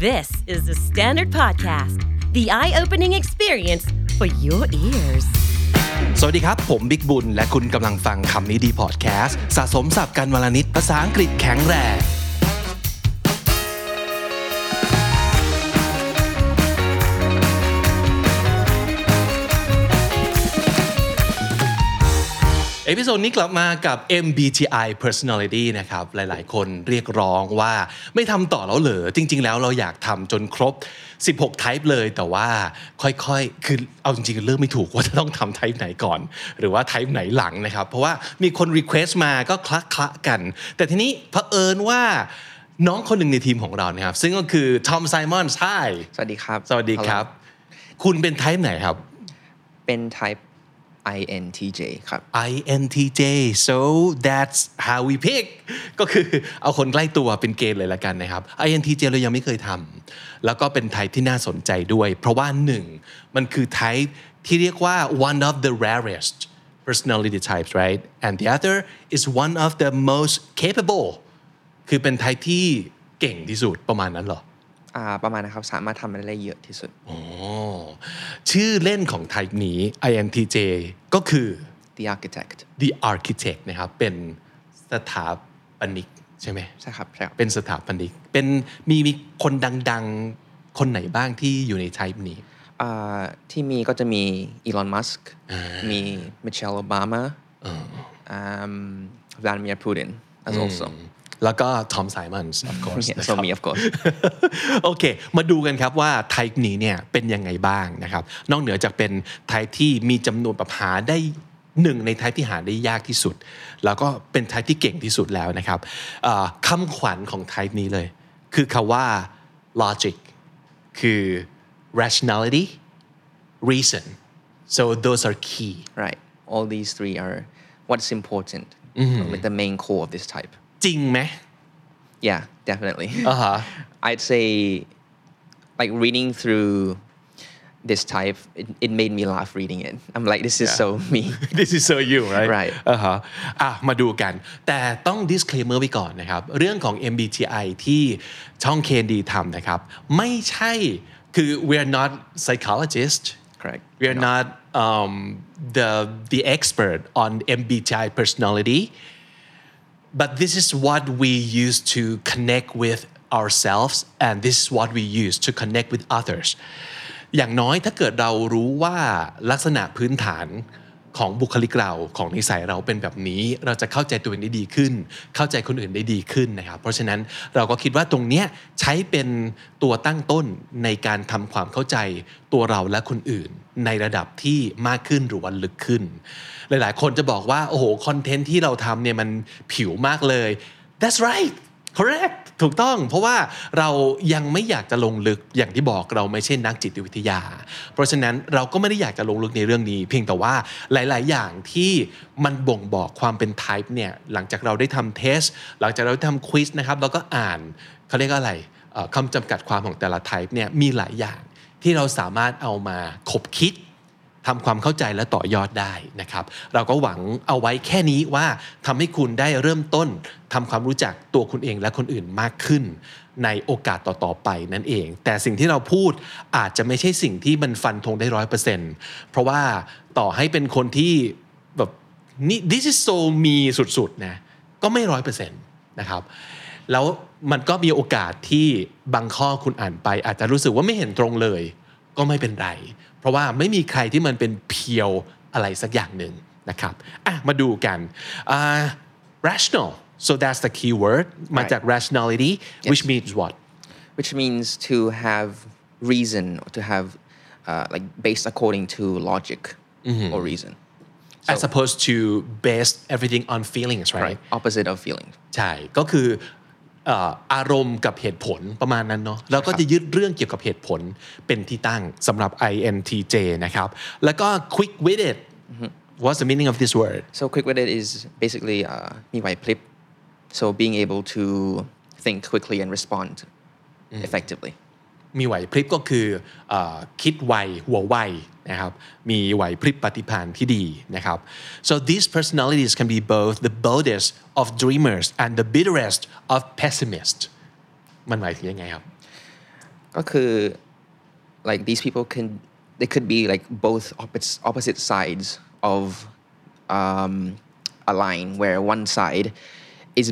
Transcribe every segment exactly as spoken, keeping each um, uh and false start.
This is the Standard Podcast, the eye-opening experience for your ears. สวัสดีครับผมบิ๊กบุญและคุณกำลังฟังคำนี้ดีพอดแคสต์สะสมศัพท์กันวลนิดภาษาอังกฤษแข็งแรงเอพิโซดนี้กลับมากับ เอ็ม บี ที ไอ Personality นะครับหลายๆคนเรียกร้องว่าไม่ทำต่อแล้วเหรอจริงๆแล้วเราอยากทำจนครบสิบหก type เลยแต่ว่าค่อยๆคือเอาจริงๆเลือกไม่ถูกว่าจะต้องทำ type ไหนก่อนหรือว่า type ไหนหลังนะครับเพราะว่ามีคน request มาก็คละๆกันแต่ทีนี้เผอิญว่าน้องคนหนึ่งในทีมของเรานะครับซึ่งก็คือทอมไซมอนส์ Hi สวัสดีครับสวัสดีครับคุณเป็น type ไหนครับเป็น typeไอ เอ็น ที เจ ครับไอ เอ็น ที เจ so that's how we pick ก็คือเอาคนใกล้ตัวเป็นเกณฑ์เลยละกันนะครับ ไอ เอ็น ที เจ เรายังไม่เคยทำแล้วก็เป็น type ที่น่าสนใจด้วยเพราะว่าหนึ่งมันคือ type ที่เรียกว่า one of the rarest personality types right and the other is one of the most capable คือเป็น type ที่เก่งที่สุดประมาณนั้นเหรออ่าประมาณนะครับสามารถทำอะไรได้เยอะที่สุดอ๋อชื่อเล่นของ type นี้ ไอ เอ็น ที เจ ก็คือ the architect the architect นะครับเป็นสถาปนิกใช่ไหมใช่ครับใช่ครับเป็นสถาปนิกเป็นมีมีคนดังๆคนไหนบ้างที่อยู่ใน type นี้อ่าที่มีก็จะมีอีลอนมัสก์มีมิเชลโอบามาอ่า Vladimir Putin as also แล้วก็ทอมไซมอนส์ of course yeah, so me of course โอเคมาดูกันครับว่า type นี้เนี่ยเป็นยังไงบ้างนะครับนอกเหนือจากเป็น type ที่มีจำนวนแบบหาได้หนึ่งใน type ที่หาได้ยากที่สุดแล้วก็เป็น type ที่เก่งที่สุดแล้วนะครับคำขวัญของ type นี้เลยคือคำว่า logic คือ rationality reason so those are key right all these three are what's important mm-hmm. like the main core of this type จริงไหม yeah definitely uh-huh. I'd say like reading through this type it, it made me laugh reading it I'm like this is yeah. so me this is so you right right อ่าฮะอ่ะมาดูกันแต่ต้อง disclaimer ไว้ก่อนนะครับเรื่องของ เอ็ม บี ที ไอ ที่ช่อง เค เอ็น ดี ทำนะครับไม่ใช่คือ we're not psychologists correct we're not um, the the expert on เอ็ม บี ที ไอ personality but this is what we use to connect with ourselves and this is what we use to connect with others อย่างน้อยถ้าเกิดเรารู้ว่าลักษณะพื้นฐานของบุคลิกเราของนิสัยเราเป็นแบบนี้เราจะเข้าใจตัวเองได้ดีขึ้นเข้าใจคนอื่นได้ดีขึ้นนะครับเพราะฉะนั้นเราก็คิดว่าตรงเนี้ยใช้เป็นตัวตั้งต้นในการทำความเข้าใจตัวเราและคนอื่นในระดับที่มากขึ้นหรือว่าลึกขึ้นหลายๆคนจะบอกว่าโอ้โหคอนเทนต์ที่เราทำเนี่ยมันผิวมากเลย That's right correct ถูกต้องเพราะว่าเรายังไม่อยากจะลงลึกอย่างที่บอกเราไม่ใช่นักจิตวิทยาเพราะฉะนั้นเราก็ไม่ได้อยากจะลงลึกในเรื่องนี้เพียงแต่ว่าหลายๆอย่างที่มันบ่งบอกความเป็น type เนี่ยหลังจากเราได้ทำเทสหลังจากเราได้ทำควิซนะครับเราก็อ่านเขาเรียกอะไรคำจำกัดความของแต่ละ type เนี่ยมีหลายอย่างที่เราสามารถเอามาคบคิดทำความเข้าใจและต่อยอดได้นะครับเราก็หวังเอาไว้แค่นี้ว่าทำให้คุณได้เริ่มต้นทำความรู้จักตัวคุณเองและคนอื่นมากขึ้นในโอกาสต่อๆไปนั่นเองแต่สิ่งที่เราพูดอาจจะไม่ใช่สิ่งที่มันฟันธงได้ ร้อยเปอร์เซ็นต์ เพราะว่าต่อให้เป็นคนที่แบบนี่ this is so me สุดๆนะก็ไม่ ร้อยเปอร์เซ็นต์ นะครับแล้วมันก็มีโอกาสที่บางข้อคุณอ่านไปอาจจะรู้สึกว่าไม่เห็นตรงเลยก็ไม่เป็นไรเพราะว่าไม่มีใครที่มันเป็นเพียวอะไรสักอย่างหนึ่งนะครับอ่ะมาดูกัน uh, rational so that's the key word มาจาก rationality yes. which means what which means to have reason or to have uh, like based according to logic mm-hmm. or reason so, as opposed to base everything on feelings right, right. opposite of feelings ใช่ก็คืออารมณ์กับเหตุผลประมาณนั้นเนาะแล้วก็จะยึดเรื่องเกี่ยวกับเหตุผลเป็นที่ตั้งสำหรับ ไอ เอ็น ที เจ นะครับแล้วก็ quick witted what's the meaning of this word so quick witted is basically มีไหวพริบ so being able to think quickly and respond effectively มีไหวพริบก็คือคิดไวหัวไวนะครับมีไหวพริบปฏิภาณที่ดีนะครับ so these personalities can be both the boldest of dreamers and the bitterest of pessimists มันหมายถึงยังไงครับก็คือ like these people can they could be like both opposite opposite sides of um, a line where one side is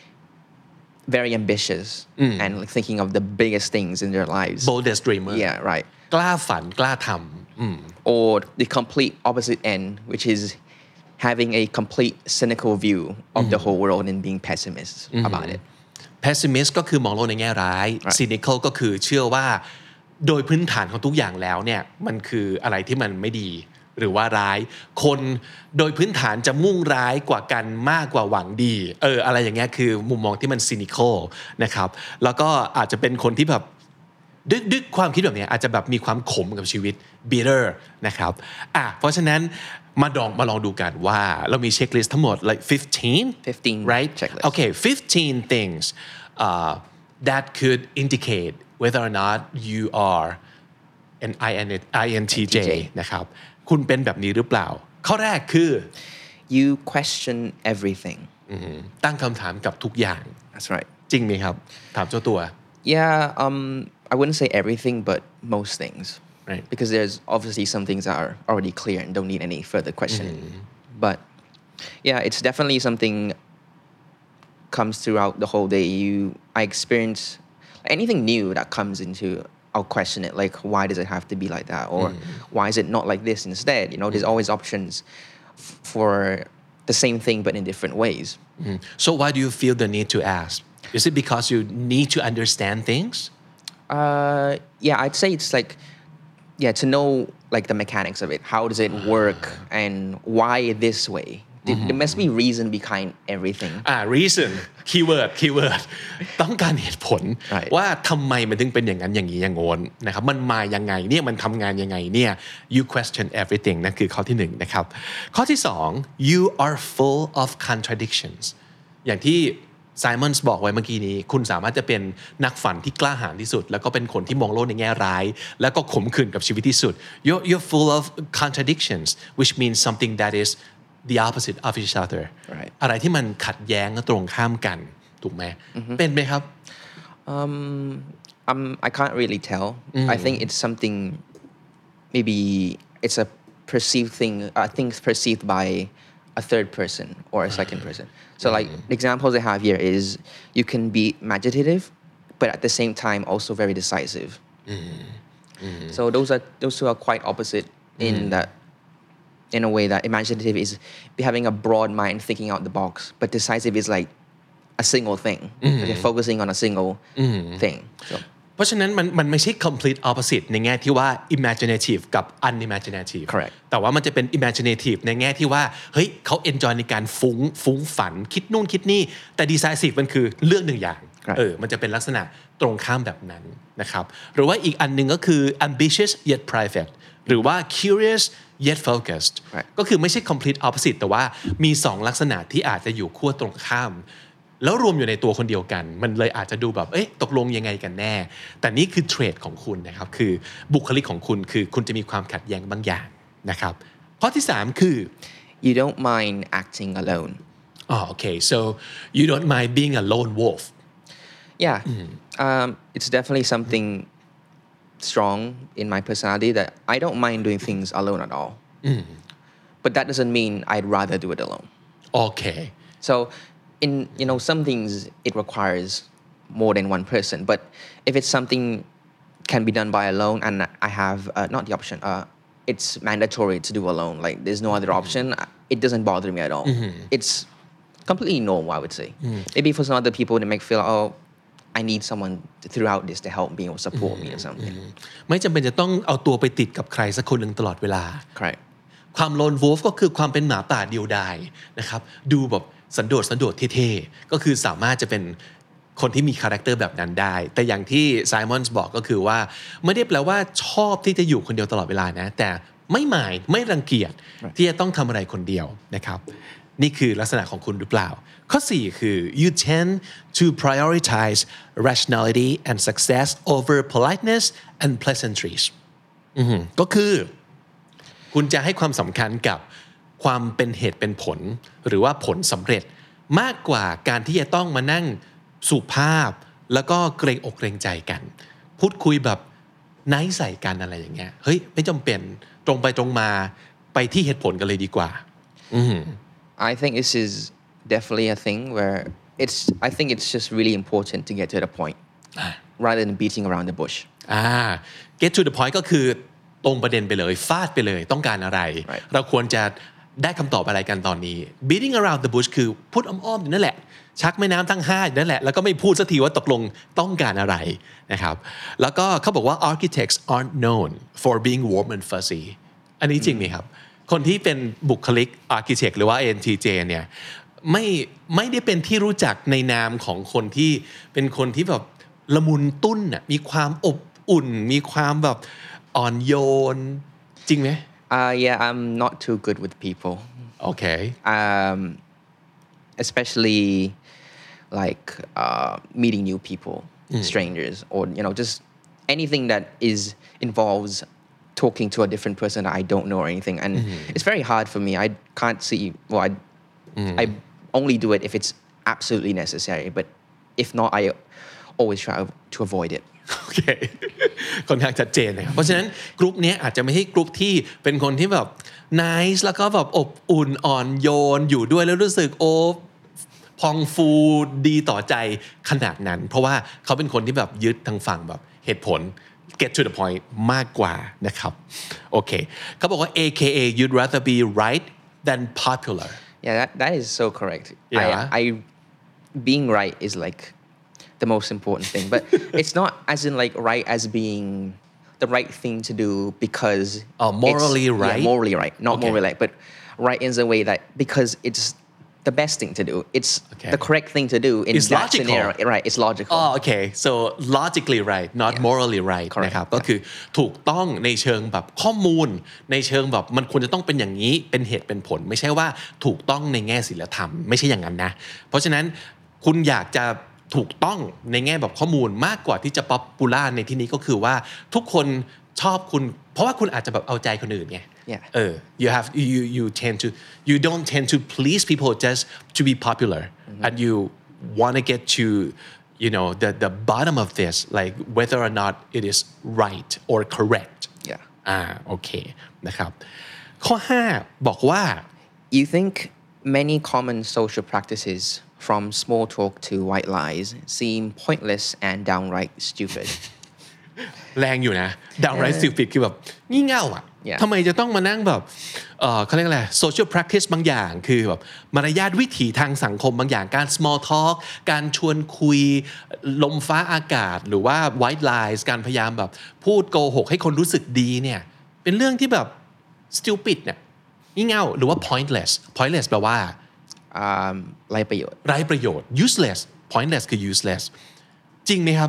very ambitious and like thinking of the biggest things in their lives boldest dreamer yeah right กล้าฝันกล้าทำอืม or the complete opposite end which is having a complete cynical view of the whole world and being pessimist about it pessimist ก็คือมองโลกในแง่ร้าย cynical ก็คือเชื่อว่าโดยพื้นฐานของทุกอย่างแล้วเนี่ยมันคืออะไรที่มันไม่ดีหรือว่าร้ายคนโดยพื้นฐานจะมุ่งร้ายกว่ากันมากกว่าหวังดีเอออะไรอย่างเงี้ยคือมุมมองที่มัน cynical นะครับแล้วก็อาจจะเป็นคนที่แบบด้วยด้วยความคิดแบบนี้อาจจะแบบมีความขมกับชีวิต bitter นะครับอ่ะเพราะฉะนั้นมาลองมาลองดูกันว่าเรามีเช็คลิสต์ทั้งหมด like fifteen fifteen right checklist okay fifteen things uh, that could indicate whether or not you are an I N T J นะครับคุณเป็นแบบนี้หรือเปล่าข้อแรกคือ you question everything ตั้งคำถามกับทุกอย่าง that's right จริงไหมครับถามเจ้าตัว yeah um I wouldn't say everything but most things right because there's obviously some things that are already clear and don't need any further questioning but yeah it's definitely something comes throughout the whole day you I experience anything new that comes into I'll question it like why does it have to be like that or mm. why is it not like this instead you know there's always options f- for the same thing but in different ways mm. so why do you feel the need to ask is it because you need to understand things uh yeah I'd say it's like yeah to know like the mechanics of it how does it work and why this way mm-hmm. there must be reason behind everything อ่า reason keyword keyword ต้องการเหตุผล right. ว่าทำไมมันถึงเป็นอย่างนั้นอย่างนี้อย่างโน้นนะครับมันมายังไงเนี่ยมันทำงานยังไงเนี่ย you question everything นั่นคือข้อที่หนึ่งนะครับข้อที่สอง you are full of contradictions อย่างที่ไซมอนส์บอกไว้เมื่อกี้นี้คุณสามารถจะเป็นนักฝันที่กล้าหาญที่สุดแล้วก็เป็นคนที่มองโลกในแง่ร้ายแล้วก็ขมขื่นกับชีวิตที่สุด you're you're full of contradictions which means something that is the opposite of each other right. อะไรที่มันขัดแย้งและตรงข้ามกันถูกไหม mm-hmm. เป็นไหมครับ um, um I can't really tell mm. I think it's something maybe it's a perceived thing I think it's perceived by a third person or a second person so like the examples I have here is you can be imaginative but at the same time also very decisive mm-hmm. so those are those two are quite opposite mm. in that in a way that imaginative is having a broad mind thinking out the box but decisive is like a single thing mm. like focusing on a single mm. thing so เพราะฉะนั้นมันมันไม่ใช่ complete opposite ในแง่ที่ว่า imaginative กับ unimaginative correct แต่ว่ามันจะเป็น imaginative ในแง่ที่ว่าเฮ้ยเขา enjoy ในการฟุ้งฟุ้งฝันคิดนู่นคิดนี่แต่ decisive มันคือเลือกหนึ่งอย่าง correct. เออมันจะเป็นลักษณะตรงข้ามแบบนั้นนะครับหรือว่าอีกอันนึงก็คือ ambitious yet private หรือว่า curious yet focused right. ก็คือไม่ใช่ complete opposite แต่ว่ามีสองลักษณะที่อาจจะอยู่ขั้วตรงข้ามแล้วรวมอยู่ในตัวคนเดียวกันมันเลยอาจจะดูแบบเอ๊ะตกลงยังไงกันแน่แต่นี่คือเทรดของคุณนะครับคือบุคลิกของคุณคือคุณจะมีความขัดแย้งบางอย่างนะครับข้อที่สามคือ you don't mind acting alone oh okay so you don't mind being a lone wolf yeah mm. um, it's definitely something strong in my personality that I don't mind doing things alone at all mm. but that doesn't mean I'd rather do it alone okay so in you know some things it requires more than one person but if it's something can be done by alone and I have uh, not the option uh, it's mandatory to do alone like there's no other option it doesn't bother me at all mm-hmm. it's completely normal I would say mm. maybe for some other people they might feel oh I need someone throughout this to help me or support mm-hmm. me or something ไม่จำเป็นจะต้องเอาตัวไปติดกับใครสักคนหนึ่งตลอดเวลา correct ความโลนวูฟก็คือความเป็นหมาป่าเดียวดายนะครับดูแบบสันโดษสันโดษเท่ๆก็คือสามารถจะเป็นคนที่มีคาแรคเตอร์แบบนั้นได้แต่อย่างที่ไซมอนส์บอกก็คือว่าไม่ได้แปลว่าชอบที่จะอยู่คนเดียวตลอดเวลานะแต่ไม่หมายไม่รังเกียจ right. ที่จะต้องทำอะไรคนเดียวนะครับนี่คือลักษณะของคุณหรือเปล่าข้อสี่คือ you tend to prioritize rationality and success over politeness and pleasantries ก็คือคุณจะให้ความสำคัญกับความเป็นเหตุเป็นผลหรือว่าผลสำเร็จมากกว่าการที่จะต้องมานั่งสุภาพแล้วก็เกรงอกเกรงใจกันพูดคุยแบบไนท์ใส่กันอะไรอย่างเงี้ยเฮ้ยไม่จำเป็นตรงไปตรงมาไปที่เหตุผลกันเลยดีกว่า I think this is definitely a thing where it's I think it's just really important to get to the point rather than beating around the bush อ่า get to the point ก็คือตรงประเด็นไปเลยฟาดไปเลยต้องการอะไร right. เราควรจะได้คำตอบอะไรกันตอนนี้ beating around the bush คือพูดอ้อมๆอยู่นั่นแหละชักแม่น้ำทั้งห้าอยู่นั่นแหละแล้วก็ไม่พูดสักทีว่าตกลงต้องการอะไรนะครับแล้วก็เขาบอกว่า architects aren't known for being warm and fuzzy อันนี้จริงไหมครับคนที่เป็นบุคลิก architect หรือว่า เอ็น ที เจ เนี่ยไม่ไม่ได้เป็นที่รู้จักในนามของคนที่เป็นคนที่แบบละมุนตุ้นน่ะมีความอบอุ่นมีความแบบอ่อนโยนจริงไหม uh yeah I'm not too good with people okay um especially like uh meeting new people mm. strangers or you know just anything that is involves talking to a different person that I don't know or anything and mm. it's very hard for me I can't see well I mm. I only do it if it's absolutely necessary but if not I always try to avoid it โอเคค่อนข้างชัดเจนนะครับเพราะฉะนั้นกลุ่มนี้อาจจะไม่ใช่กลุ่มที่เป็นคนที่แบบ nice แล้วก็แบบอบอุ่นอ่อนโยนอยู่ด้วยแล้วรู้สึกโอ้พองฟูดีต่อใจขนาดนั้นเพราะว่าเขาเป็นคนที่แบบยึดทางฝั่งแบบเหตุผล get to the point มากกว่านะครับโอเคเขาบอกว่า เอ เค เอ you'd rather be right than popular yeah that that is so correct yeah. I I being right is like the most important thing but it's not as in like right as being the right thing to do because oh, morally it's, right yeah, morally right not okay. morally right but right in the way that because it's the best thing to do it's okay. the correct thing to do in it's that logical. scenario right it's logical oh okay so logically right not yeah. morally right นะครับก็คือถูกต้องในเชิงแบบข้อมูลในเชิงแบบมันควรจะต้องเป็นอย่างนี้เป็นเหตุเป็นผลไม่ใช่ว่าถูกต้องในแง่ศีลธรรมไม่ใช่อย่างนั้นนะเพราะฉะนั้นคุณอยากจะถูกต้องในแง่แบบข้อมูลมากกว่าที่จะป๊อปปูล่าในที่นี้ก็คือว่าทุกคนชอบคุณเพราะว่าคุณอาจจะแบบเอาใจคนอื่นไง yeah. เออ you have you you tend to you don't tend to please people just to be popular mm-hmm. and you want to get to you know the the bottom of this like whether or not it is right or correct yeah อ่าโอเคนะครับข้อห้าบอกว่า you think many common social practices from small talk to white lies seem pointless and downright stupid แรงอยู่นะ downright stupid คือแบบงี่เง่าอ่ะ yeah. ทำไมจะต้องมานั่งแบบเออเขาเรียกอะไร social practice บางอย่างคือแบบมารยาทวิถีทางสังคมบางอย่างการ small talk การชวนคุยลมฟ้าอากาศหรือว่า white lies การพยายามแบบพูดโกหกให้คนรู้สึกดีเนี่ยเป็นเรื่องที่แบบ stupid เนี่ยงี่เง่าหรือว่า pointless pointless แปลว่าไร้ประโยชน์ไร้ประโยชน์ useless pointless คือ useless จริงไหมครับ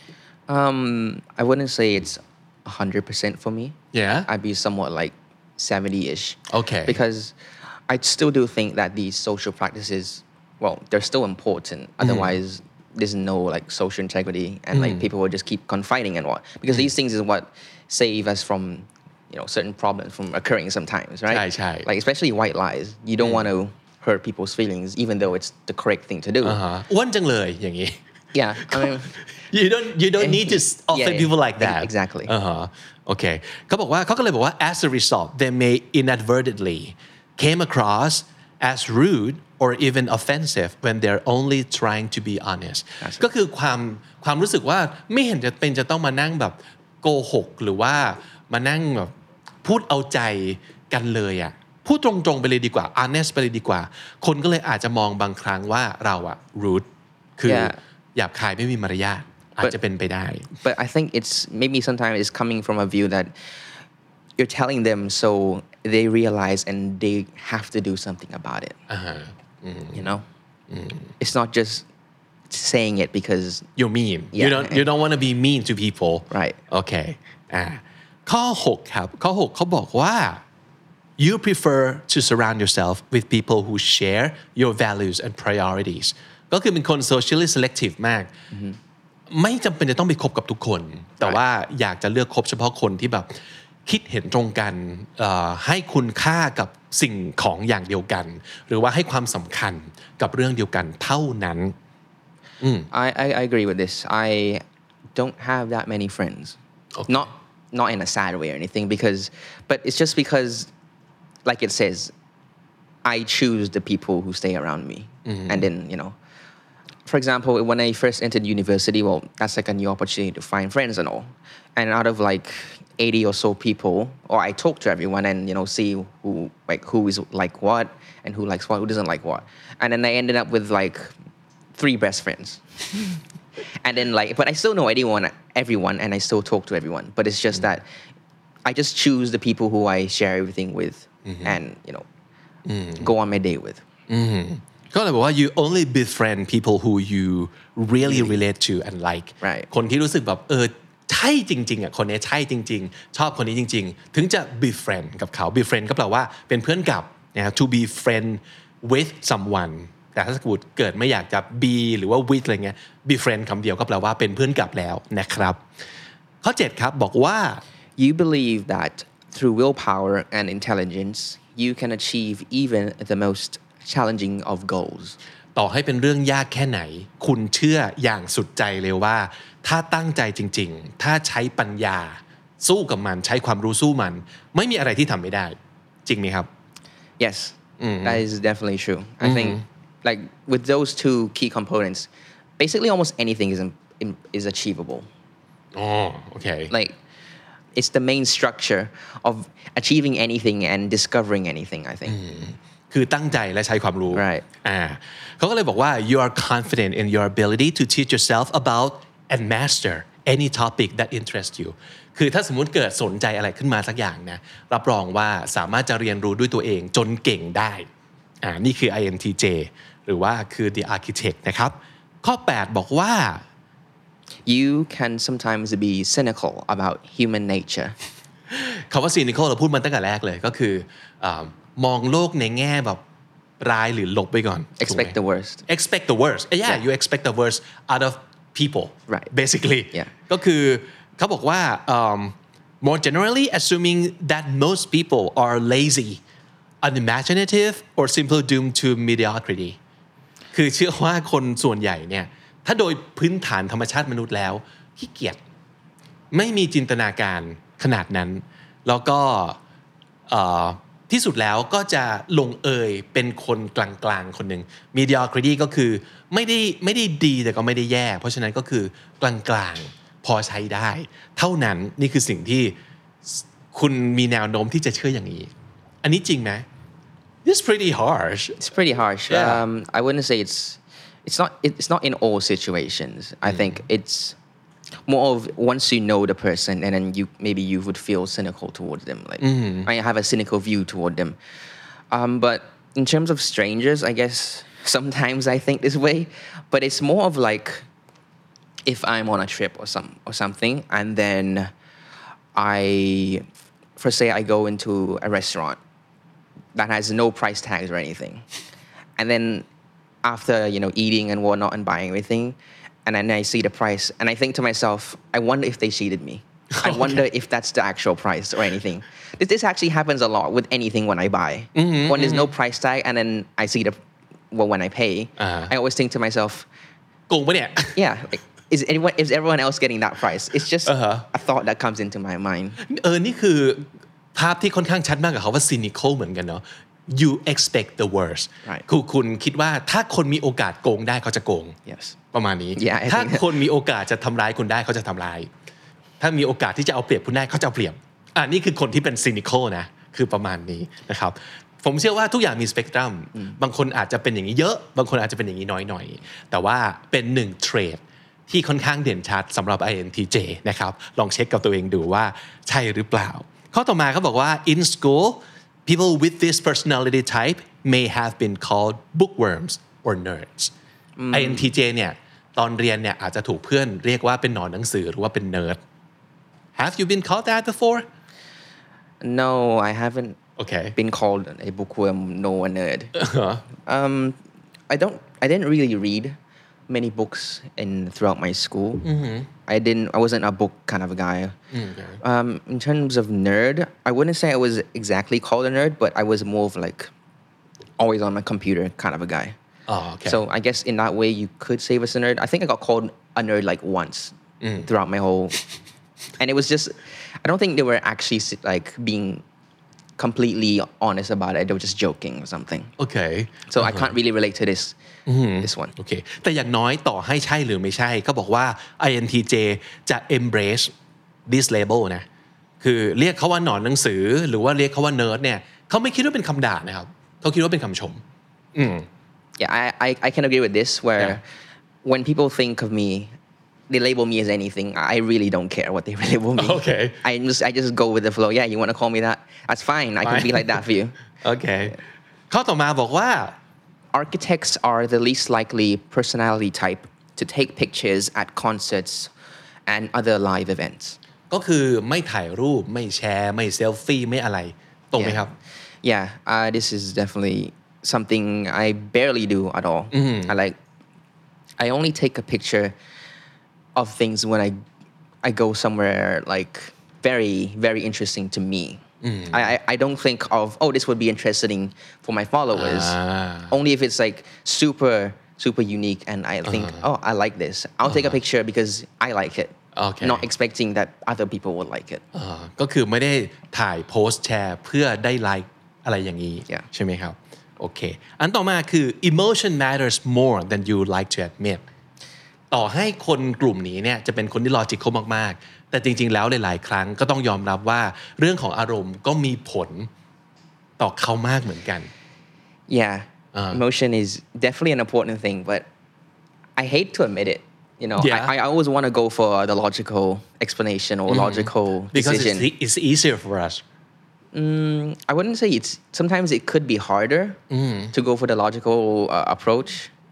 um I wouldn't say it's one hundred percent for me yeah I'd be somewhat like seventy-ish okay because I still do think that these social practices well they're still important otherwise mm. there's no like social integrity and mm. like people will just keep confiding and what because mm. these things is what save us from you know certain problems from occurring sometimes right ใช่ใช่ like especially white lies you don't mm. want to hurt people's feelings even though it's the correct thing to do อ้วนจังเลยอย่างนี้ yeah I mean you don't you don't need to offend yeah, people like that exactly อ่าฮะโอเคเขาบอกว่าเขาก็เลยบอกว่า as a result they may inadvertently came across as rude or even offensive when they're only trying to be honest ก็คือความความรู้สึกว่าไม่เห็นจะเป็นจะต้องมานั่งแบบโกหกหรือว่ามานั่งแบบพูดเอาใจกันเลยอ่ะพูดตรงๆไปเลยดีกว่า honest ไปเลยดีกว่าคนก็เลยอาจจะมองบางครั้งว่าเราอะ rude คือ yeah. หยาบคายไม่มีมารยาทอาจจะเป็นไปได้ but I think it's maybe sometimes it's coming from a view that you're telling them so they realize and they have to do something about it uh-huh. mm. you know mm. it's not just saying it because you're mean yeah. you don't you don't want to be mean to people right okay อ่าข้อหกครับข้อหกเขาบอกว่า you prefer to surround yourself with people who share your values and priorities ก็คือเป็นคน socially selective มาก mm-hmm. ไม่จำเป็นจะต้องไปคบกับทุกคนแต่ว่าอยากจะเลือกคบเฉพาะคนที่แบบคิดเห็นตรงกันให้คุณค่ากับสิ่งของอย่างเดียวกันหรือว่าให้ความสำคัญกับเรื่องเดียวกันเท่านั้น I, I I agree with this I don't have that many friends. Okay. Not not in a sad way or anything because but it's just because like it says I choose the people who stay around me. Mm-hmm. And then, you know, for example, when I first entered university, well, that's like a new opportunity to find friends and all. And out of like eighty or so people, or I talk to everyone and, you know, see who like who is like what and who likes what, who doesn't like what. And then I ended up with like three best friends. And then like, but I still know anyone, everyone, and I still talk to everyone. But it's just mm-hmm. that I just choose the people who I share everything with mm-hmm. and, you know, mm-hmm. go on my day with. Mm-hmm. ก็เลยบอกว่า you only befriend people who you really relate to and like right. คนที่รู้สึกแบบเออใช่จริงๆอ่ะคนนี้ใช่จริงๆชอบคนนี้จริงๆถึงจะ befriend กับเขา befriend ก็แปลว่าเป็นเพื่อนกับนะ to be friend with someone แต่ถ้าสมมติเกิดไม่อยากจะ be หรือว่า with อะไรเงี้ย befriend คำเดียวก็แปลว่าเป็นเพื่อนกับแล้วนะครับข้อเจ็ดครับบอกว่า you believe that through willpower and intelligence you can achieve even the most challenging of goals ต่อให้เป็นเรื่องยากแค่ไหนคุณเชื่ออย่างสุดใจเลยว่าถ้าตั้งใจจริงๆถ้าใช้ปัญญาสู้กับมันใช้ความรู้สู้มันไม่มีอะไรที่ทำไม่ได้จริงไหมครับ yes mm-hmm. that is definitely true I mm-hmm. think like with those two key components basically almost anything is is achievable oh okay like it's the main structure of achieving anything and discovering anything I think mm-hmm. คือตั้งใจและใช้ความรู้ right อ่าเขาก็เลยบอกว่า you are confident in your ability to teach yourself about and master any topic that interests you คือถ้าสมมุติเกิดสนใจอะไรขึ้นมาสักอย่างนะรับรองว่าสามารถจะเรียนรู้ด้วยตัวเองจนเก่งได้อ่านี่คือ ไอ เอ็น ที เจ หรือว่าคือ the architect นะครับข้อแปดบอกว่า you can sometimes be cynical about human nature คำว่า cynical เราพูดมันตั้งแต่แรกเลยก็คือมองโลกในแง่แบบร้ายหรือลบไปก่อน expect the worst expect the worst yeah, yeah you expect the worst out of people right basically yeah ก็คือเขาบอกว่า um, more generally assuming that most people are lazy unimaginative or simply doomed to mediocrity คือเชื่อว่าคนส่วนใหญ่เนี่ยถ้าโดยพื้นฐานธรรมชาติมนุษย์แล้วขี้เกียจไม่มีจินตนาการขนาดนั้นแล้วก็ที่สุดแล้วก็จะลงเอยเป็นคนกลางๆคนหนึ่ง mediocrity ก็คือไม่ได้ไม่ได้ดีแต่ก็ไม่ได้แย่เพราะฉะนั้นก็คือกลางๆพอใช้ได้เท่านั้นนี่คือสิ่งที่คุณมีแนวโน้มที่จะเชื่ออย่างนี้อันนี้จริงไหม It's pretty harsh It's pretty harsh yeah. um, I wouldn't say it's it's not it's not in all situations I mm. think it's more of once you know the person and then you maybe you would feel cynical towards them like mm-hmm. I have a cynical view toward them um, but in terms of strangers I guess sometimes I think this way but it's more of like if I'm on a trip or some or something and then I for say I go into a restaurant that has no price tags or anything and then after you know eating and whatnot and buying everything and then I see the price and I think to myself I wonder if they cheated me I okay. wonder if that's the actual price or anything this, this actually happens a lot with anything when I buy mm-hmm, when there's mm-hmm. no price tag and then I see the well when I pay uh-huh. I always think to myself โกงปะเนี่ย yeah like, is anyone is everyone else getting that price it's just uh-huh. a thought that comes into my mind เออนี่คือภาพที่ค่อนข้างชัดมากกับเขาว่า cynical เหมือนกันเนาะ you expect the worst คือคุณคิดว่าถ้าคนมีโอกาสโกงได้เขาจะโกง yes ประมาณนี้ yeah, ถ้าคนมีโอกาสจะทำร้ายคุณได้เขาจะทำร้ายถ้ามีโอกาสที่จะเอาเปรียบคุณได้เขาจะเอาเปรียบอ่ะนี่คือคนที่เป็น cynical นะคือประมาณนี้นะครับผมเชื่อว่าทุกอย่างมีสเปกตรัมบางคนอาจจะเป็นอย่างนี้เยอะบางคนอาจจะเป็นอย่างนี้น้อยหน่อยแต่ว่าเป็นหนึ่งเทรดที่ค่อนข้างเด่นชัดสำหรับ ไอ เอ็น ที เจ นะครับลองเช็คกับตัวเองดูว่าใช่หรือเปล่าข้อต่อมาเขาบอกว่า in school people with this personality type may have been called bookworms or nerds ไอ เอ็น ที เจ เนี่ยตอนเรียนเนี่ยอาจจะถูกเพื่อนเรียกว่าเป็นหนอนหนังสือหรือว่าเป็น nerd Have you been called that before No I haven't okay been called a bookworm nor a nerd uh-huh. um I don't I didn't really read many books in throughout my school mm-hmm. I didn't I wasn't a book kind of a guy okay. um in terms of nerd I wouldn't say I was exactly called a nerd but I was more of like always on my computer kind of a guy oh okay so I guess in that way you could say I was a nerd I think I got called a nerd like once throughout my whole and it was just I don't think they were actually like being completely honest about it they were just joking or something okay so I can't really relate to this this one โอเคแต่อย่างน้อยต่อให้ใช่หรือไม่ใช่เขาบอกว่า ไอ เอ็น ที เจ จะ embrace this label นะคือเรียกเขาว่าหนอนหนังสือหรือว่าเรียกเขาว่าเนิร์ดเนี่ยเขาไม่คิดว่าเป็นคำด่านะครับเขาคิดว่าเป็นคำชมอืม yeah I I I can agree with this where yeah. when people think of me they label me as anything I really don't care what they label me okay I just I just go with the flow yeah you want to call me that that's fine I can be like that for you โอเคข้อต่อมาบอกว่า architects are the least likely personality type to take pictures at concerts and other live events ก็คือไม่ถ่ายรูปไม่แชร์ไม่เซลฟี่ไม่อะไรตรงไหมครับ yeah uh, this is definitely something I barely do at all I like I only take a picture of things when I I go somewhere like very very interesting to me I, I I don't think of oh this would be interesting for my followers ah. only if it's like super super unique and I think uh-huh. oh I like this I'll uh-huh. take a picture because I like it okay. not expecting that other people would like it ก็คือไม่ได้ถ่ายโพสต์แชร์เพื่อได้ไลค์อะไรอย่างนี้ yeah. ใช่ไหมครับโอเคอันต่อมาคือ emotion matters more than you like to admit ต่อให้คนกลุ่มนี้เนี่ยจะเป็นคนที่ logical มากๆแต่จริงๆแล้วหลายๆครั้งก็ต้องยอมรับว่าเรื่องของอารมณ์ก็มีผลต่อเขามากเหมือนกัน yeah uh. emotion is definitely an important thing but I hate to admit it you know yeah. I, I always want to go for the logical explanation or mm-hmm. logical because decision it's, it's easier for us mm, I wouldn't say it's sometimes it could be harder mm. to go for the logical uh, approach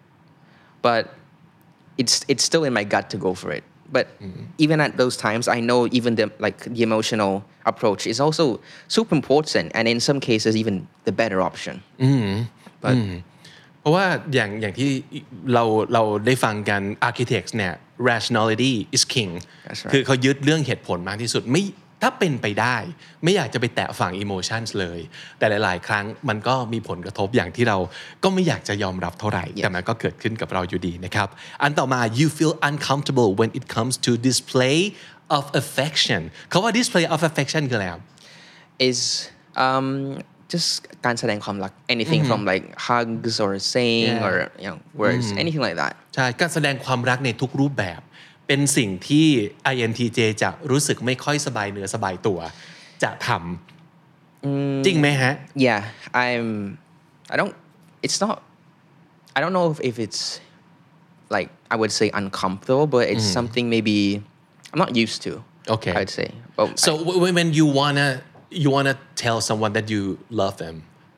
but it's it's still in my gut to go for it but mm. even at those times I know even the like the emotional approach is also super important and in some cases even the better option mm. but mm. เพราะว่าอย่างอย่างที่เราเราได้ฟังกัน architects เนี่ย rationality is king right. คือเขายึดเรื่องเหตุผลมากที่สุดไม่ถ้าเป็นไปได้ไม่อยากจะไปแตะฝั่ง emotions เลยแต่หลายๆครั้งมันก็มีผลกระทบอย่างที่เราก็ไม่อยากจะยอมรับเท่าไหร่ yes. แต่มันก็เกิดขึ้นกับเราอยู่ดีนะครับอันต่อมา you feel uncomfortable when it comes to display of affection เขาว่า display of affection คืออะไรครับ is um just การแสดงความรัก anything mm-hmm. from like hugs or saying yeah. or you know words mm-hmm. anything like that ใช่การแสดงความรักในทุกรูปแบบเป็นสิ่งที่ ไอ เอ็น ที เจ จะรู้สึกไม่ค่อยสบายเนื้อสบายตัวจะทำจริงไหมฮะ yeah I'm I don't it's not I don't know if, if it's like I would say uncomfortable but it's mm. something maybe I'm not used to okay I'd say but so I, when you wanna you wanna tell someone that you love them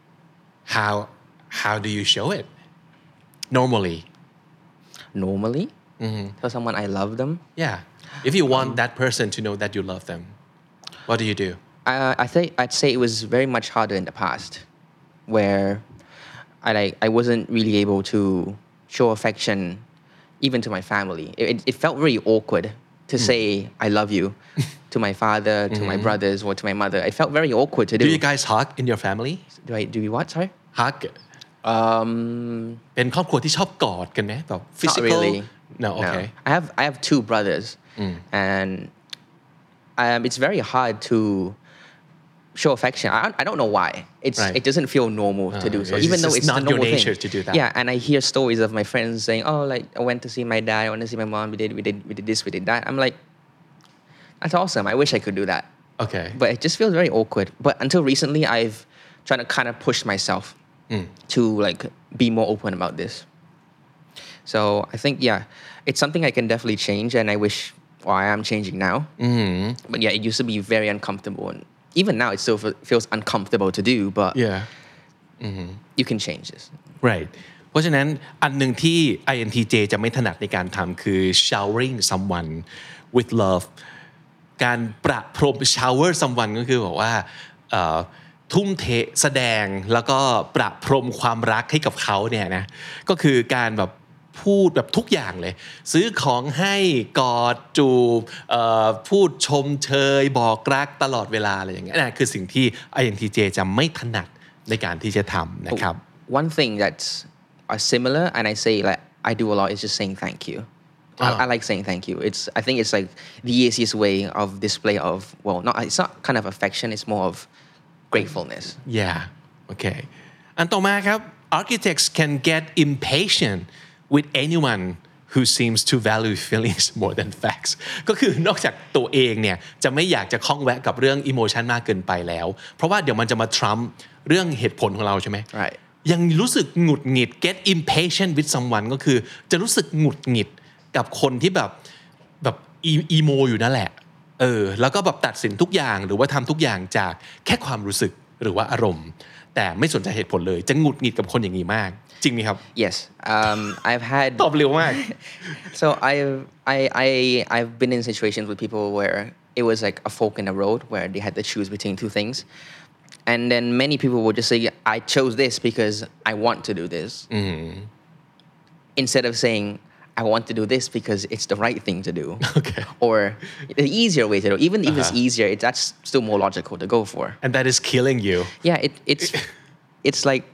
how how do you show it normally normally mm-hmm. tell someone I love them yeah if you want um, that person to know that you love them what do you do uh, I think I'd say it was very much harder in the past where I like I wasn't really able to show affection even to my family it, it felt very awkward to mm. say I love you to my father to mm-hmm. my brothers or to my mother it felt very awkward to do do you guys hug in your family do I do we what sorry hug um เป็นครอบครัวที่ชอบกอดกันไหมแบบ physical not really no okay no. I have I have two brothers mm. and um, it's very hard to show affection I, I don't know why it's right. it doesn't feel normal uh, to do so even though it's not the normal your nature thing to do that yeah and I hear stories of my friends saying oh like I went to see my dad I went to see my mom we did we did we did this we did that I'm like that's awesome I wish I could do that okay but it just feels very awkward but until recently I've tried to kind of push myself mm. to like be more open about this so I think yeah it's something I can definitely change and I wish well, I am changing now mm-hmm. but yeah it used to be very uncomfortable and even now it still feels uncomfortable to do but yeah mm-hmm. you can change this right เพราะฉะนั้นอันหนึ่งที่ ไอ เอ็น ที เจ จะไม่ถนัดในการทำคือ showering someone with love การประพรม shower someone ก็คือบอกว่าทุ่มเทแสดงแล้วก็ประพรมความรักให้กับเขาเนี่ยนะก็คือการแบบพูดแบบทุกอย่างเลยซื้อของให้กอดจูบพูดชมเชยบอกรักตลอดเวลาอะไรอย่างเงี้ยนั่นคือสิ่งที่ ไอ เอ็น ที เจ จะไม่ถนัดในการที่จะทำนะครับ one thing that's similar and I say like I do a lot is just saying thank you I, I like saying thank you. It's I think it's like the easiest way of display of well, not it's not kind of affection. It's more of gratefulness. yeah okay อันต่อมาครับ architects can get impatient with anyone who seems to value feelings more than facts ก็คือนอกจากตัวเองเนี่ยจะไม่อยากจะคล้องแวะกับเรื่อง emotion มากเกินไปแล้วเพราะว่าเดี๋ยวมันจะมาทรัมป์เรื่องเหตุผลของเราใช่ไหม Right. ยังรู้สึกหงุดหงิด get impatient with someone ก็คือจะรู้สึกหงุดหงิดกับคนที่แบบแบบอีโมอยู่นั่นแหละเออแล้วก็แบบตัดสินทุกอย่างหรือว่าทำทุกอย่างจากแค่ความรู้สึกหรือว่าอารมณ์แต่ไม่สนใจเหตุผลเลยจะหงุดหงิดกับคนอย่างนี้มากจริงไหมครับ Yes, um, I've had ตอบเร็วมาก so I've I I I've been in situations with people where it was like a fork in the road where they had to choose between two things, and then many people would just say, "I chose this because I want to do this," instead of saying, "I want to do this because it's the right thing to do," Okay. or the easier way to do. Even if it's easier, it, that's still more logical to go for. and that is killing you Yeah, it it's it's like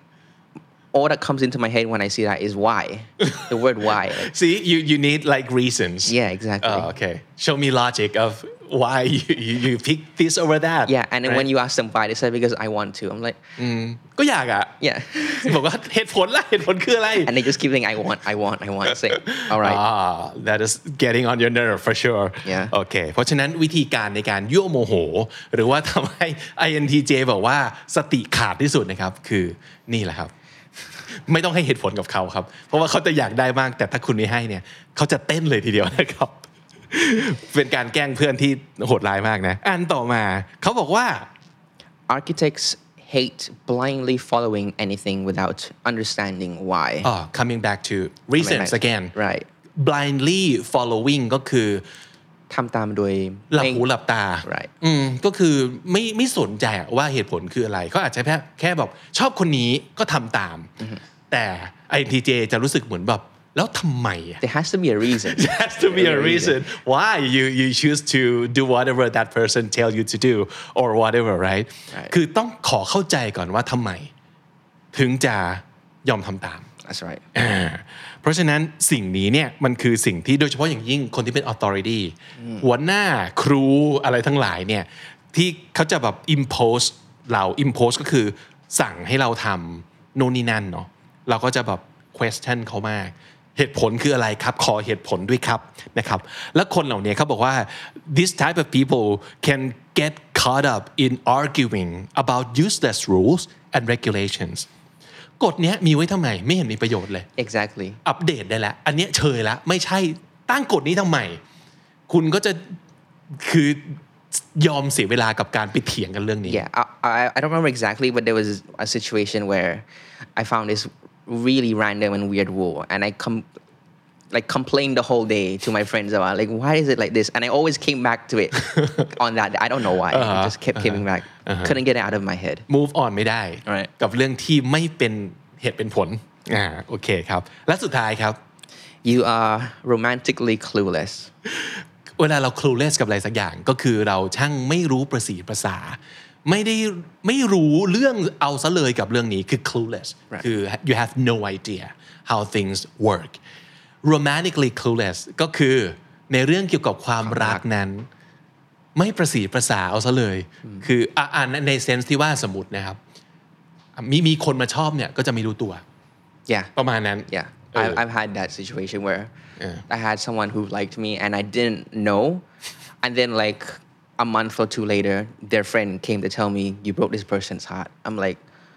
all that comes into my head when I see that is why. The word why. Like, see you you need like reasons yeah, exactly. oh, okay show me logic of why you you, you pick this over that Yeah, and then right? when you ask them why, they say because I want to. I'm like, ก็อยากอ่ะ yeah. บอกว่าเหตุผลล่ะเหตุผลคืออะไร And they just keep saying, I want, I want, I want. Say, all right. ah that is getting on your nerve for sure Yeah. โอเคเพราะฉะนั้นวิธีการในการยั่วโมโหหรือว่าทำให้ ไอ เอ็น ที เจ บอกว่าสติขาดที่สุดนะครับคือนี่แหละครับไม่ต้องให้เหตุผลกับเขาครับเพราะว่าเขาจะอยากได้มากแต่ถ้าคุณไม่ให้เนี่ยเขาจะเต้นเลยทีเดียวนะครับ เป็นการแกล้งเพื่อนที่โหดร้ายมากนะอันต่อมาเขาบอกว่า Architects hate blindly following anything without understanding why. oh coming back to reasons Right. again Right. blindly following ก็คือทำตามโดยหลับหูหลับตา Right. อืมก็คือไม่ไม่สนใจว่าเหตุผลคืออะไรเขาอาจจะแค่แค่แบบชอบคนนี้ก็ทำตาม แต่ ไอ เอ็น ที เจ จะรู้สึกเหมือนแบบแล้วทำไมอะ There has to be a reason. There has to be a reason why you you choose to do whatever that person tell you to do or whatever right Right. คือต้องขอเข้าใจก่อนว่าทำไมถึงจะยอมทำตาม That's right. อ่าเพราะฉะนั้นสิ่งนี้เนี่ยมันคือสิ่งที่โดยเฉพาะอย่างยิ่งคนที่เป็น authority หัวหน้าครูอะไรทั้งหลายเนี่ยที่เขาจะแบบ impose เรา impose ก็คือสั่งให้เราทำโน่นนี่นั่นเนาะเราก็จะแบบ question เขามากเหตุผลคืออะไรครับขอเหตุผลด้วยครับนะครับแล้วคนเหล่านี้เขาบอกว่า this type of people can get caught up in arguing about useless rules and regulations กฎเนี้ยมีไว้ทำไมไม่เห็นมีประโยชน์เลย Exactly. อัปเดตได้แล้วอันเนี้ยเชยแล้วไม่ใช่ตั้งกฎนี้ทำไมคุณก็จะคือยอมเสียเวลากับการไปเถียงกันเรื่องนี้ Yeah, I, I I don't remember exactly, but there was a situation where I found this really random and weird rule, and I com like complained the whole day to my friends about like why is it like this, and I always came back to it on that. I don't know why. I just kept coming back. Couldn't get it out of my head. move on ไม่ได้ Right. กับเรื่องที่ไม่เป็นเหตุเป็นผลอ่าโอเคครับและสุดท้ายครับ You are romantically clueless. เวลาเรา clueless กับอะไรสักอย่างก็คือเราช่างไม่รู้ประสีภาษาไม่ได้ไม่รู้เรื่องเอาซะเลยกับเรื่องนี้คือ clueless Right. คือ you have no idea how things work romantically clueless ก็คือในเรื่องเกี่ยวกับความรักนั้นไม่ประสีภาษาเอาซะเลยคืออ่าในเซนส์ที่ว่าสมมตินะครับมีมีคนมาชอบเนี่ยก็จะไม่รู้ตัว Yeah. ประมาณนั้น Yeah. เออ I've, I've had that situation where Yeah. I had someone who liked me and I didn't know. And then like a month or two later, their friend came to tell me, you broke this person's heart. I'm like,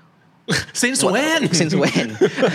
since what- when Since when?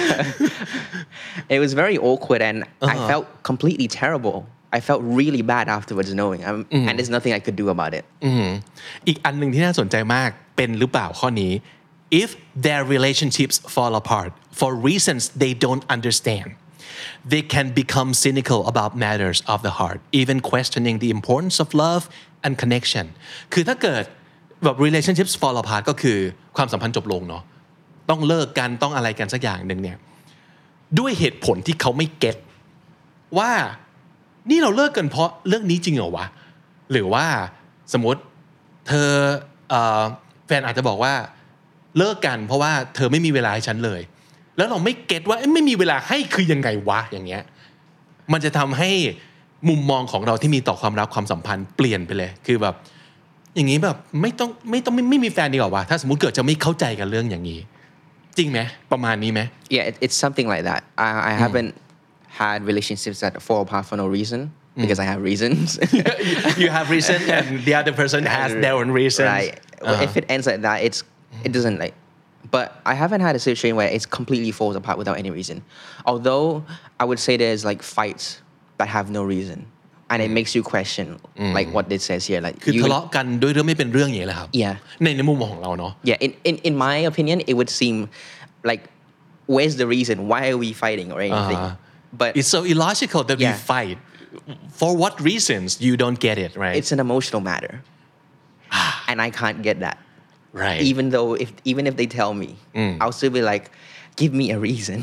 It was very awkward and I felt completely terrible. I felt really bad afterwards knowing. I'm, And there's nothing I could do about it. อีกอันหนึ่งที่น่าสนใจมากเป็นหรือเปล่าข้อนี้ if their relationships fall apart for reasons they don't understand they can become cynical about matters of the heart even questioning the importance of love and connection คือถ้าเกิดแบบ relationships fall apart ก็คือความสัมพันธ์จบลงเนาะต้องเลิกกันต้องอะไรกันสักอย่างหนึ่งเนี่ยด้วยเหตุผลที่เขาไม่เก็ตว่านี่เราเลิกกันเพราะเรื่องนี้จริงเหรอวะหรือว่าสมมติเธอเอ่อแฟนอาจจะบอกว่าเลิกกันเพราะว่าเธอไม่มีเวลาให้ฉันเลยแล้วเราไม่เก็ตว่าไม่มีเวลาให้คือยังไงวะอย่างเงี้ยมันจะทำให้มุมมองของเราที่มีต่อความรักความสัมพันธ์เปลี่ยนไปเลยคือแบบอย่างนี้แบบไม่ต้องไม่ต้องไม่ไม่มีแฟนดีกว่าว่ะถ้าสมมุติเกิดจะไม่เข้าใจกันเรื่องอย่างนี้จริงไหมประมาณนี้ไหม Yeah, it, it's something like that. I, I haven't had relationships that fall apart for no reason because I have reasons. You have reason and the other person has their own reasons. Right. Uh-huh. If it ends like that, it's it doesn't like. But I haven't had a situation where it's completely falls apart without any reason. Although I would say there's like fights that have no reason, and it makes you question like what it says here. Like คือ you, ทะเลาะกันด้วยเรื่องไม่เป็นเรื่องอย่างนี้แหละครับ Yeah. ในในมุมมองของเราเนาะ Yeah. In in in my opinion, it would seem like where's the reason? Why are we fighting or anything? Uh-huh. But It's so illogical that we Yeah. fight. For what reasons? You don't get it, right? it's an emotional matter, and I can't get that. Right. Even though if even if they tell me, I'll still be like, give me a reason.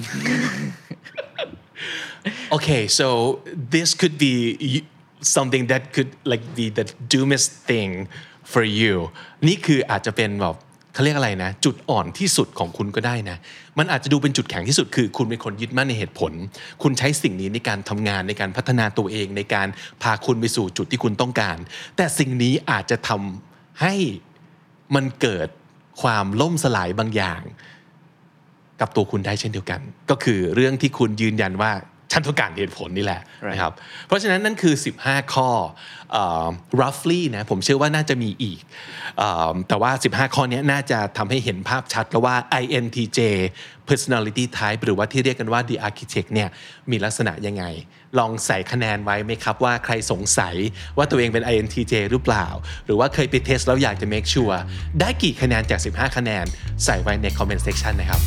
Okay, so this could be something that could like be the doomest thing for you. นี่คืออาจจะเป็นแบบเขาเรียกอะไรนะจุดอ่อนที่สุดของคุณก็ได้นะมันอาจจะดูเป็นจุดแข็งที่สุดคือคุณเป็นคนยึดมั่นในเหตุผลคุณใช้สิ่งนี้ในการทำงานในการพัฒนาตัวเองในการพาคุณไปสู่จุดที่คุณต้องการแต่สิ่งนี้อาจจะทำให้มันเกิดความล่มสลายบางอย่างกับตัวคุณได้เช่นเดียวกันก็คือเรื่องที่คุณยืนยันว่าฉันต้องการเหตุผลนี่แหละ right. นะครับเพราะฉะนั้นนั่นคือสิบห้าข้อ uh, roughly นะผมเชื่อว่าน่าจะมีอีก uh, แต่ว่าสิบห้าข้อนี้น่าจะทำให้เห็นภาพชัดแล้วว่า ไอ เอ็น ที เจ personality type หรือว่าที่เรียกกันว่า the architect เนี่ยมีลักษณะยังไงลองใส่คะแนนไว้ไหมครับว่าใครสงสัยว่าตัวเองเป็น ไอ เอ็น ที เจ หรือเปล่าหรือว่าเคยไปเทสแล้วอยากจะ make sure ได้กี่คะแนนจากสิบห้าคะแนนใส่ไว้ใน comment section นะครับ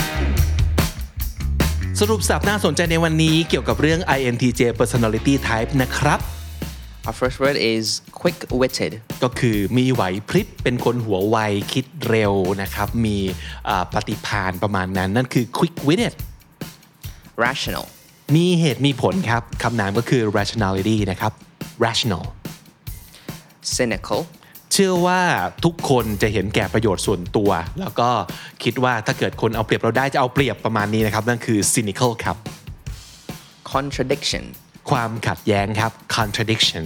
สรุปสับน่าสนใจในวันนี้เกี่ยวกับเรื่อง ไอ เอ็น ที เจ personality type นะครับ Our first word is quick-witted ก็คือมีไหวพริบเป็นคนหัวไวคิดเร็วนะครับมีปฏิภาณประมาณนั้นนั่นคือ quick-witted rational มีเหตุมีผลครับคำนามก็คือ rationality นะครับ rational cynical เชื่อว่าทุกคนจะเห็นแก่ประโยชน์ส่วนตัวแล้วก็คิดว่าถ้าเกิดคนเอาเปรียบเราได้จะเอาเปรียบประมาณนี้นะครับนั่นคือ cynical ครับ contradiction ความขัดแย้งครับ contradiction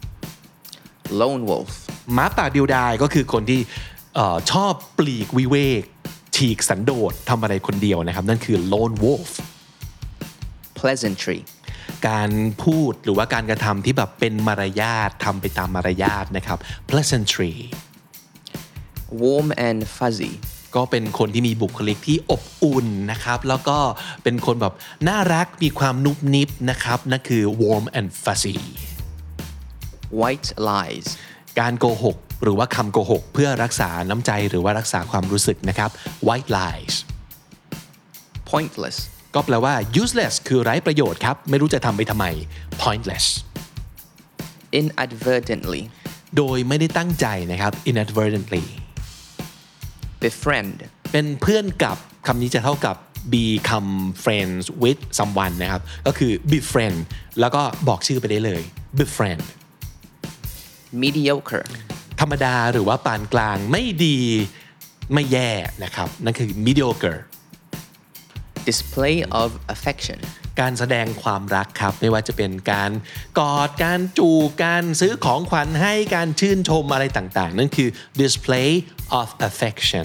lone wolf หมาป่าเดียวดายก็คือคนที่ชอบปลีกวิเวกฉีกสันโดษทำอะไรคนเดียวนะครับนั่นคือ lone wolf pleasantry การพูดหรือว่าการกระทำที่แบบเป็นมารยาททำไปตามมารยาทนะครับ pleasantry warm and fuzzy ก็เป็นคนที่มีบุคลิกที่อบอุ่นนะครับแล้วก็เป็นคนแบบน่ารักมีความนุบนิบนะครับนั่นคือ warm and fuzzy white lies การโกหกหรือว่าคำโกหกเพื่อรักษาน้ำใจหรือว่ารักษาความรู้สึกนะครับ white lies pointless ก็แปลว่า useless คือไร้ประโยชน์ครับไม่รู้จะทำไปทำไม pointless inadvertently โดยไม่ได้ตั้งใจนะครับ inadvertently befriend เป็นเพื่อนกับคำนี้จะเท่ากับ become friends with someone นะครับก็คือ befriend แล้วก็บอกชื่อไปได้เลย befriend mediocre ธรรมดาหรือว่าปานกลางไม่ดีไม่แย่นะครับนั่นคือ mediocre display of affection การแสดงความรักครับไม่ว่าจะเป็นการกอดการจูบการซื้อของขวัญให้การชื่นชมอะไรต่างๆนั่นคือ display of affection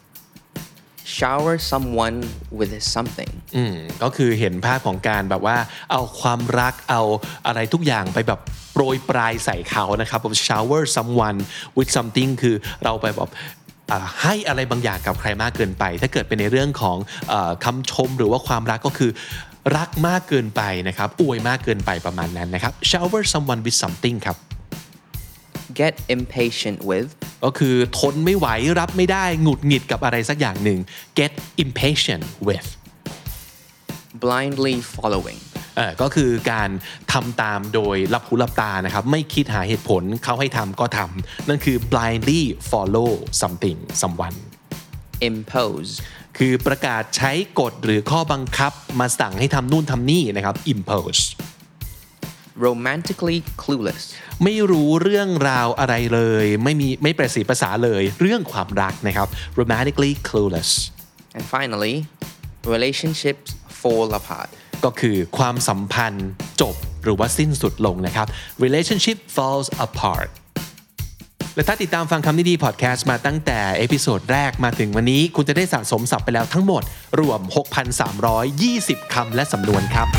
shower someone with something อืมก็คือเห็นภาพของการแบบว่าเอาความรักเอาอะไรทุกอย่างไปแบบโปรยปลายใส่เขานะครับ shower someone with something คือเราไปแบบให้อะไรบางอย่างกับใครมากเกินไปถ้าเกิดเป็นในเรื่องของเอ่อคำชมหรือว่าความรักก็คือรักมากเกินไปนะครับอวยมากเกินไปประมาณนั้นนะครับ shower someone with something ครับ get impatient with ก็คือทนไม่ไหวรับไม่ได้หงุดหงิดกับอะไรสักอย่างหนึ่ง get impatient with blindly following เอ่อก็คือการทำตามโดยหลับหูหลับตานะครับไม่คิดหาเหตุผลเขาให้ทำก็ทำนั่นคือ blindly follow something someone impose คือประกาศใช้กฎหรือข้อบังคับมาสั่งให้ทำนู่นทำนี่นะครับ impose romantically clueless ไม่รู้เรื่องราวอะไรเลยไม่มีไม่ประสีภาษาเลยเรื่องความรักนะครับ romantically clueless and finally relationships fall apart ก็คือความสัมพันธ์จบหรือว่าสิ้นสุดลงนะครับ relationship falls apart และถ้าติดตามฟังคำนี้ดีพอดแคสต์มาตั้งแต่เอพิโซดแรกมาถึงวันนี้คุณจะได้สะสมศัพท์ไปแล้วทั้งหมดรวม หกพันสามร้อยยี่สิบ คำและสำนวนครับ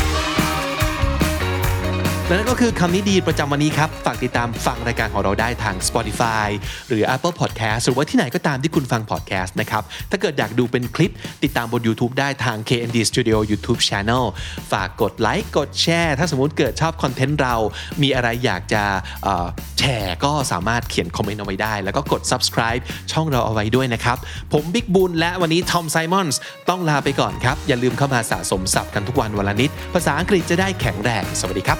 และนั่นก็คือคำนี้ดีประจำวันนี้ครับฝากติดตามฟังรายการของเราได้ทาง Spotify หรือ Apple Podcast หรือว่าที่ไหนก็ตามที่คุณฟัง podcast นะครับถ้าเกิดอยากดูเป็นคลิปติดตามบน YouTube ได้ทาง เค เอ็น ดี Studio YouTube Channel ฝากกดไลค์กดแชร์ถ้าสมมุติเกิดชอบคอนเทนต์เรามีอะไรอยากจะเอ่อแชร์ก็สามารถเขียนคอมเมนต์เอาไว้ได้แล้วก็กด Subscribe ช่องเราเอาไว้ด้วยนะครับผมบิ๊กบุญและวันนี้ทอมไซมอนส์ต้องลาไปก่อนครับอย่าลืมเข้ามาสะสมศัพท์กันทุกวันวันละนิดภาษาอังกฤษจะได้แข็งแรงสวัสดีครับ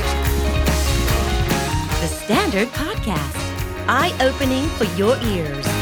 The Standard Podcast, eye-opening for your ears.